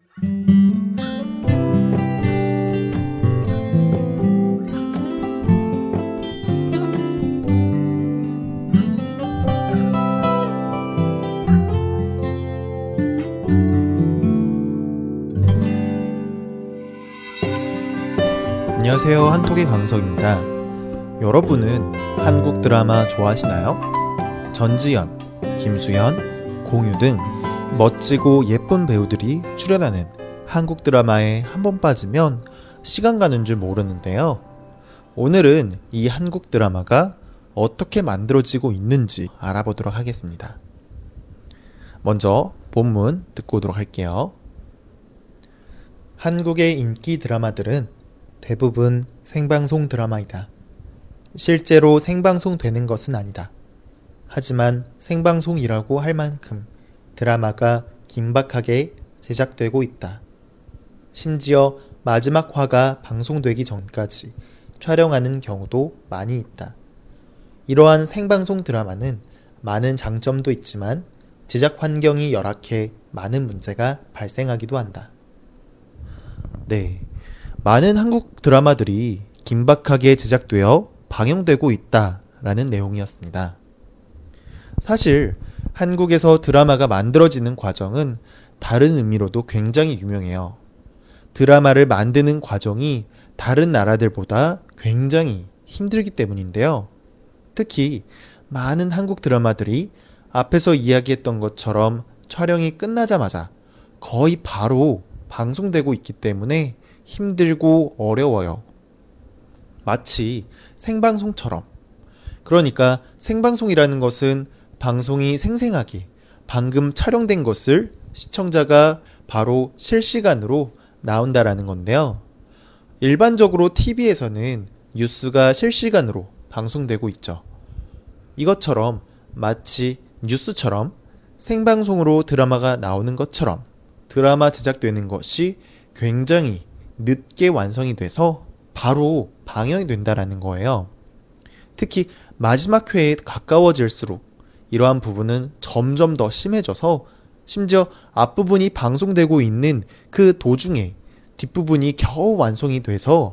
안녕하세요, 한톡의 강석입니다. 여러분은 한국 드라마 좋아하시나요? 전지현, 김수현, 공유 등 멋지고 예쁜 배우들이 출연하는 한국 드라마에 한 번 빠지면 시간 가는 줄 모르는데요. 오늘은 이 한국 드라마가 어떻게 만들어지고 있는지 알아보도록 하겠습니다. 먼저 본문 듣고 오도록 할게요. 한국의 인기 드라마들은 대부분 생방송 드라마이다. 실제로 생방송되는 것은 아니다. 하지만 생방송이라고 할 만큼 드라마가 긴박하게 제작되고 있다. 심지어 마지막 화가 방송되기 전까지 촬영하는 경우도 많이 있다. 이러한 생방송 드라마는 많은 장점도 있지만 제작 환경이 열악해 많은 문제가 발생하기도 한다. 네, 많은 한국 드라마들이 긴박하게 제작되어 방영되고 있다라는 내용이었습니다. 사실 한국에서 드라마가 만들어지는 과정은 다른 의미로도 굉장히 유명해요. 드라마를 만드는 과정이 다른 나라들보다 굉장히 힘들기 때문인데요. 특히 많은 한국 드라마들이 앞에서 이야기했던 것처럼 촬영이 끝나자마자 거의 바로 방송되고 있기 때문에 힘들고 어려워요. 마치 생방송처럼. 그러니까 생방송이라는 것은 방송이 생생하게 방금 촬영된 것을 시청자가 바로 실시간으로 나온다라는 건데요. 일반적으로 TV에서는 뉴스가 실시간으로 방송되고 있죠. 이것처럼 마치 뉴스처럼 생방송으로 드라마가 나오는 것처럼 드라마 제작되는 것이 굉장히 늦게 완성이 돼서 바로 방영이 된다라는 거예요. 특히 마지막 회에 가까워질수록 이러한 부분은 점점 더 심해져서 심지어 앞부분이 방송되고 있는 그 도중에 뒷부분이 겨우 완성이 돼서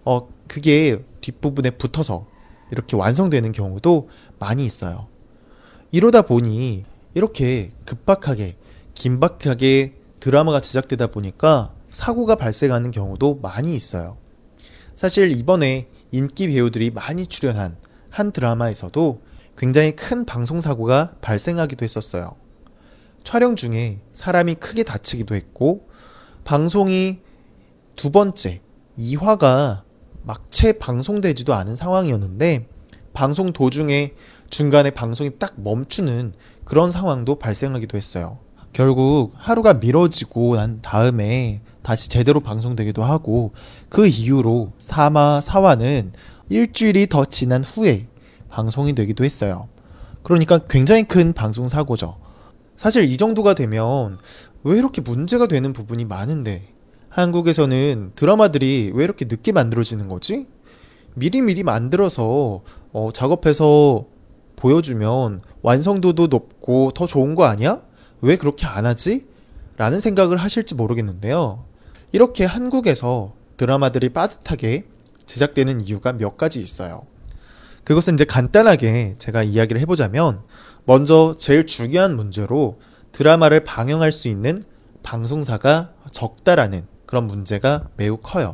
그게 뒷부분에 붙어서 이렇게 완성되는 경우도 많이 있어요. 이러다 보니 이렇게 급박하게 긴박하게 드라마가 제작되다 보니까 사고가 발생하는 경우도 많이 있어요. 사실 이번에 인기 배우들이 많이 출연한 한 드라마에서도 굉장히 큰 방송사고가 발생하기도 했었어요. 촬영 중에 사람이 크게 다치기도 했고 방송이 두 번째 2화가 막 채 방송되지도 않은 상황이었는데 방송 도중에 중간에 방송이 딱 멈추는 그런 상황도 발생하기도 했어요. 결국 하루가 미뤄지고 난 다음에 다시 제대로 방송되기도 하고 그 이후로 3화, 4화는 일주일이 더 지난 후에 방송이 되기도 했어요. 그러니까 굉장히 큰 방송사고죠. 사실 이 정도가 되면 왜 이렇게 문제가 되는 부분이 많은데 한국에서는 드라마들이 왜 이렇게 늦게 만들어지는 거지? 미리미리 만들어서 작업해서 보여주면 완성도도 높고 더 좋은 거 아니야? 왜 그렇게 안 하지? 라는 생각을 하실지 모르겠는데요. 이렇게 한국에서 드라마들이 빠듯하게 제작되는 이유가 몇 가지 있어요. 그것은 이제 간단하게 제가 이야기를 해보자면 먼저 제일 중요한 문제로 드라마를 방영할 수 있는 방송사가 적다라는 그런 문제가 매우 커요.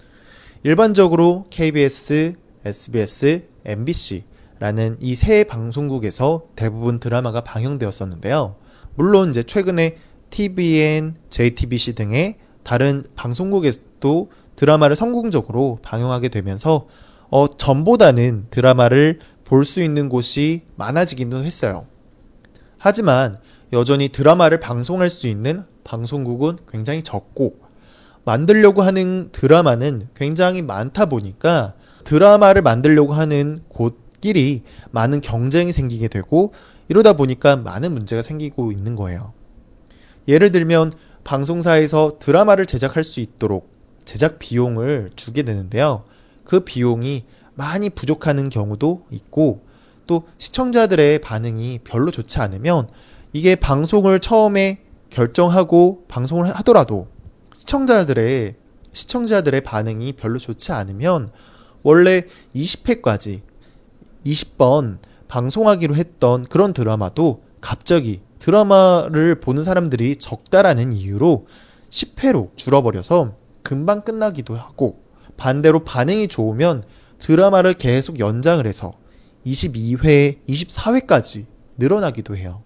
일반적으로 KBS, SBS, MBC라는 이 세 방송국에서 대부분 드라마가 방영되었었는데요. 물론 이제 최근에 TVN, JTBC 등의 다른 방송국에서도 드라마를 성공적으로 방영하게 되면서 전보다는 드라마를 볼 수 있는 곳이 많아지기도 했어요. 하지만 여전히 드라마를 방송할 수 있는 방송국은 굉장히 적고 만들려고 하는 드라마는 굉장히 많다 보니까 드라마를 만들려고 하는 곳끼리 많은 경쟁이 생기게 되고 이러다 보니까 많은 문제가 생기고 있는 거예요. 예를 들면 방송사에서 드라마를 제작할 수 있도록 제작 비용을 주게 되는데요. 그 비용이 많이 부족하는 경우도 있고 또 시청자들의 반응이 별로 좋지 않으면 이게 방송을 처음에 결정하고 방송을 하더라도 시청자들의 반응이 별로 좋지 않으면 원래 20회까지 20번 방송하기로 했던 그런 드라마도 갑자기 드라마를 보는 사람들이 적다라는 이유로 10회로 줄어버려서 금방 끝나기도 하고, 반대로 반응이 좋으면 드라마를 계속 연장을 해서 22회, 24회까지 늘어나기도 해요.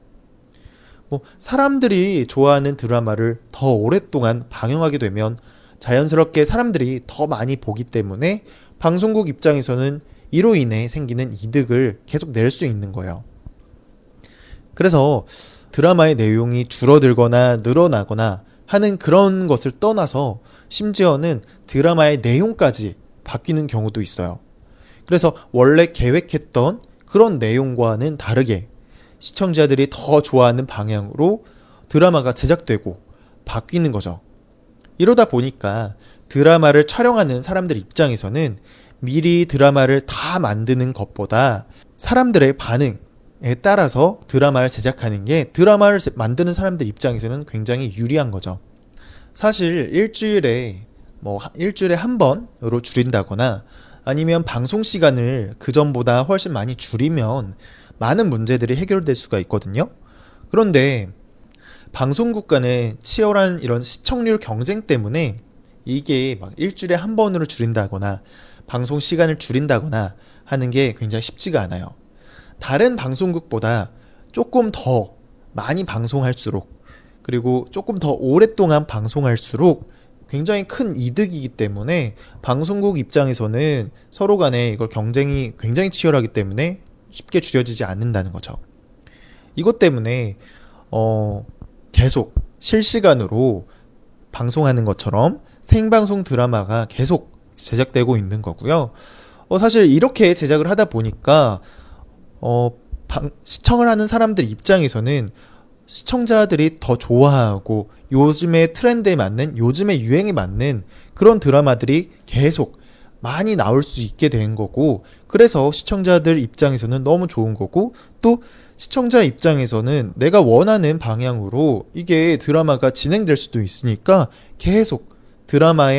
사람들이 좋아하는 드라마를 더 오랫동안 방영하게 되면 자연스럽게 사람들이 더 많이 보기 때문에 방송국 입장에서는 이로 인해 생기는 이득을 계속 낼 수 있는 거예요. 그래서 드라마의 내용이 줄어들거나 늘어나거나 하는 그런 것을 떠나서 심지어는 드라마의 내용까지 바뀌는 경우도 있어요. 그래서 원래 계획했던 그런 내용과는 다르게 시청자들이 더 좋아하는 방향으로 드라마가 제작되고 바뀌는 거죠. 이러다 보니까 드라마를 촬영하는 사람들 입장에서는 미리 드라마를 다 만드는 것보다 사람들의 반응에 따라서 드라마를 제작하는 게 드라마를 만드는 사람들 입장에서는 굉장히 유리한 거죠. 사실 일주일에 한 번으로 줄인다거나 아니면 방송 시간을 그전보다 훨씬 많이 줄이면 많은 문제들이 해결될 수가 있거든요. 그런데 방송국 간의 치열한 이런 시청률 경쟁 때문에 이게 막 일주일에 한 번으로 줄인다거나 방송 시간을 줄인다거나 하는 게 굉장히 쉽지가 않아요. 다른 방송국보다 조금 더 많이 방송할수록, 그리고 조금 더 오랫동안 방송할수록 굉장히 큰 이득이기 때문에 방송국 입장에서는 서로 간에 이걸 경쟁이 굉장히 치열하기 때문에 쉽게 줄여지지 않는다는 거죠. 이것 때문에 계속 실시간으로 방송하는 것처럼 생방송 드라마가 계속 제작되고 있는 거고요. 사실 이렇게 제작을 하다 보니까 시청을 하는 사람들 입장에서는 시청자들이 더 좋아하고 요즘의 트렌드에 맞는, 요즘의 유행에 맞는 그런 드라마들이 계속 많이 나올 수 있게 된 거고, 그래서 시청자들 입장에서는 너무 좋은 거고, 또 시청자 입장에서는 내가 원하는 방향으로 이게 드라마가 진행될 수도 있으니까 계속 드라마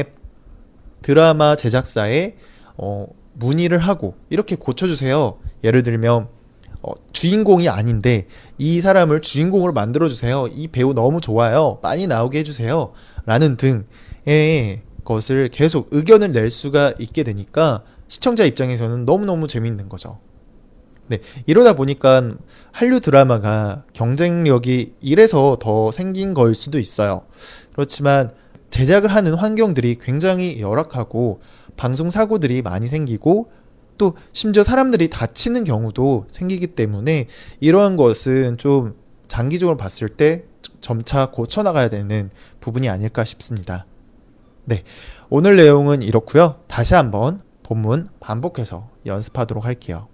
제작사에 문의를 하고 이렇게 고쳐주세요. 예를 들면 주인공이 아닌데 이 사람을 주인공으로 만들어주세요. 이 배우 너무 좋아요. 많이 나오게 해주세요. 라는 등의 것을 계속 의견을 낼 수가 있게 되니까 시청자 입장에서는 너무너무 재밌는 거죠. 네, 이러다 보니까 한류 드라마가 경쟁력이 이래서 더 생긴 걸 수도 있어요. 그렇지만 제작을 하는 환경들이 굉장히 열악하고 방송 사고들이 많이 생기고 또 심지어 사람들이 다치는 경우도 생기기 때문에 이러한 것은 좀 장기적으로 봤을 때 점차 고쳐나가야 되는 부분이 아닐까 싶습니다. 네, 오늘 내용은 이렇고요. 다시 한번 본문 반복해서 연습하도록 할게요.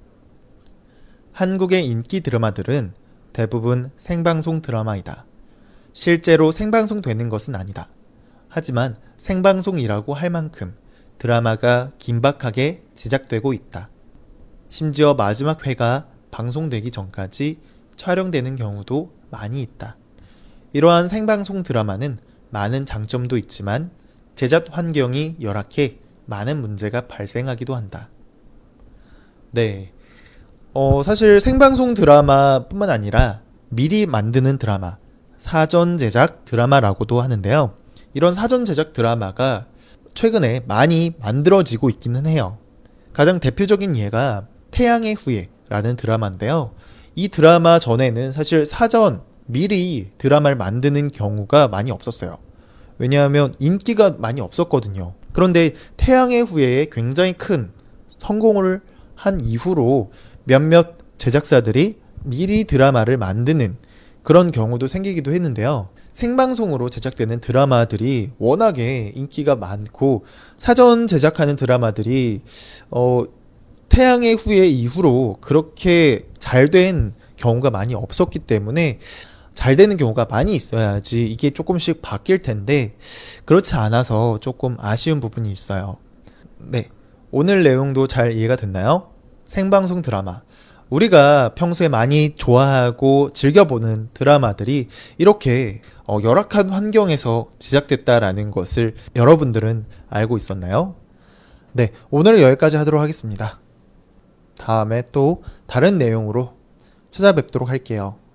한국의 인기 드라마들은 대부분 생방송 드라마이다. 실제로 생방송 되는 것은 아니다. 하지만 생방송이라고 할 만큼 드라마가 긴박하게 제작되고 있다. 심지어 마지막 회가 방송되기 전까지 촬영되는 경우도 많이 있다. 이러한 생방송 드라마는 많은 장점도 있지만 제작 환경이 열악해 많은 문제가 발생하기도 한다. 네, 사실 생방송 드라마뿐만 아니라 미리 만드는 드라마, 사전 제작 드라마라고도 하는데요. 이런 사전 제작 드라마가 최근에 많이 만들어지고 있기는 해요. 가장 대표적인 예가 태양의 후예라는 드라마인데요. 이 드라마 전에는 사실 미리 드라마를 만드는 경우가 많이 없었어요. 왜냐하면 인기가 많이 없었거든요. 그런데 태양의 후예에 굉장히 큰 성공을 한 이후로 몇몇 제작사들이 미리 드라마를 만드는 그런 경우도 생기기도 했는데요. 생방송으로 제작되는 드라마들이 워낙에 인기가 많고 사전 제작하는 드라마들이 태양의 후예 이후로 그렇게 잘 된 경우가 많이 없었기 때문에 잘 되는 경우가 많이 있어야지 이게 조금씩 바뀔 텐데 그렇지 않아서 조금 아쉬운 부분이 있어요. 네, 오늘 내용도 잘 이해가 됐나요? 생방송 드라마, 우리가 평소에 많이 좋아하고 즐겨보는 드라마들이 이렇게 열악한 환경에서 제작됐다라는 것을 여러분들은 알고 있었나요? 네, 오늘은 여기까지 하도록 하겠습니다. 다음에 또 다른 내용으로 찾아뵙도록 할게요.